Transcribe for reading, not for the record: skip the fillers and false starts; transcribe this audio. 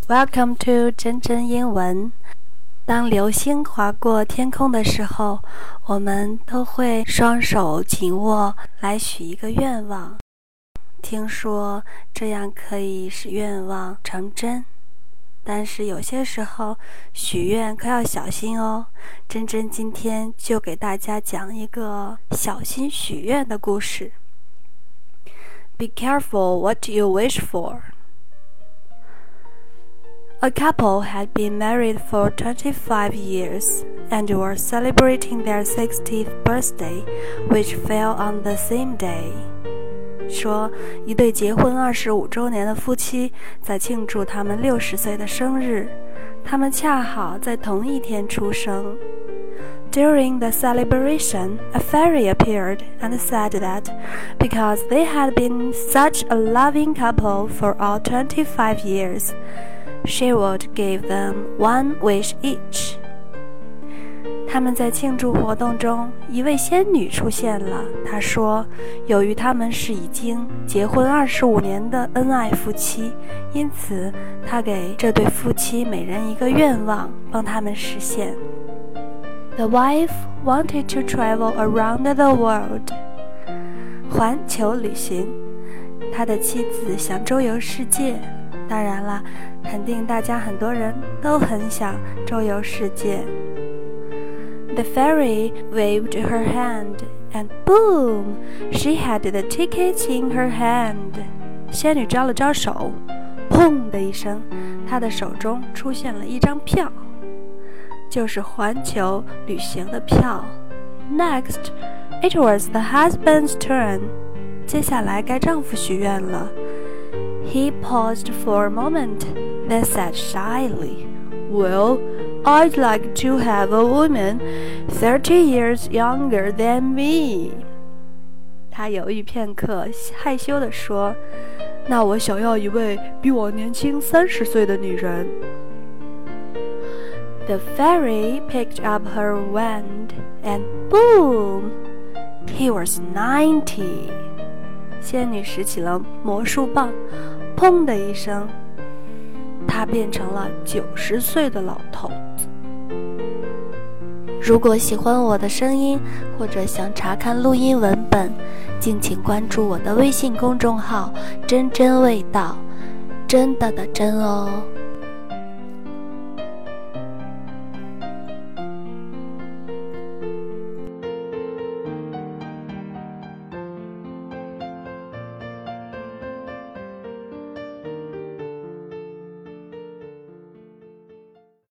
Welcome to 真真英文。当流星划过天空的时候，我们都会双手紧握来许一个愿望。听说这样可以使愿望成真，但是有些时候许愿可要小心哦。真真今天就给大家讲一个小心许愿的故事。Be careful what you wish for.A couple had been married for 25 years and were celebrating their 60th birthday, which fell on the same day. 说，一对结婚25周年的夫妻在庆祝他们60岁的生日，他们恰好在同一天出生。During the celebration, a fairy appeared and said that because they had been such a loving couple for all 25 years,She would give them one wish each. 他们在庆祝活动中，一位仙女出现了。她说，由于他们是已经结婚25年的恩爱夫妻，因此她给这对夫妻每人一个愿望，帮他们实现。The wife wanted to travel around the world. 环球旅行。他的妻子想周游世界。当然了，肯定大家很多人都很想周游世界。The fairy waved her hand, and boom, she had the tickets in her hand. 仙女招了招手，砰的一声，她的手中出现了一张票，就是环球旅行的票。Next, it was the husband's turn. 接下来该丈夫许愿了。He paused for a moment, then said shyly, Well, I'd like to have a woman 30 years younger than me. 他犹豫片刻，害羞地说，那我想要一位比我年轻30岁的女人。The fairy picked up her wand, and boom, he was 90. 仙女拾起了魔术棒，砰的一声，他变成了90岁的老头子。如果喜欢我的声音，或者想查看录音文本，敬请关注我的微信公众号真真味道，真的的真哦。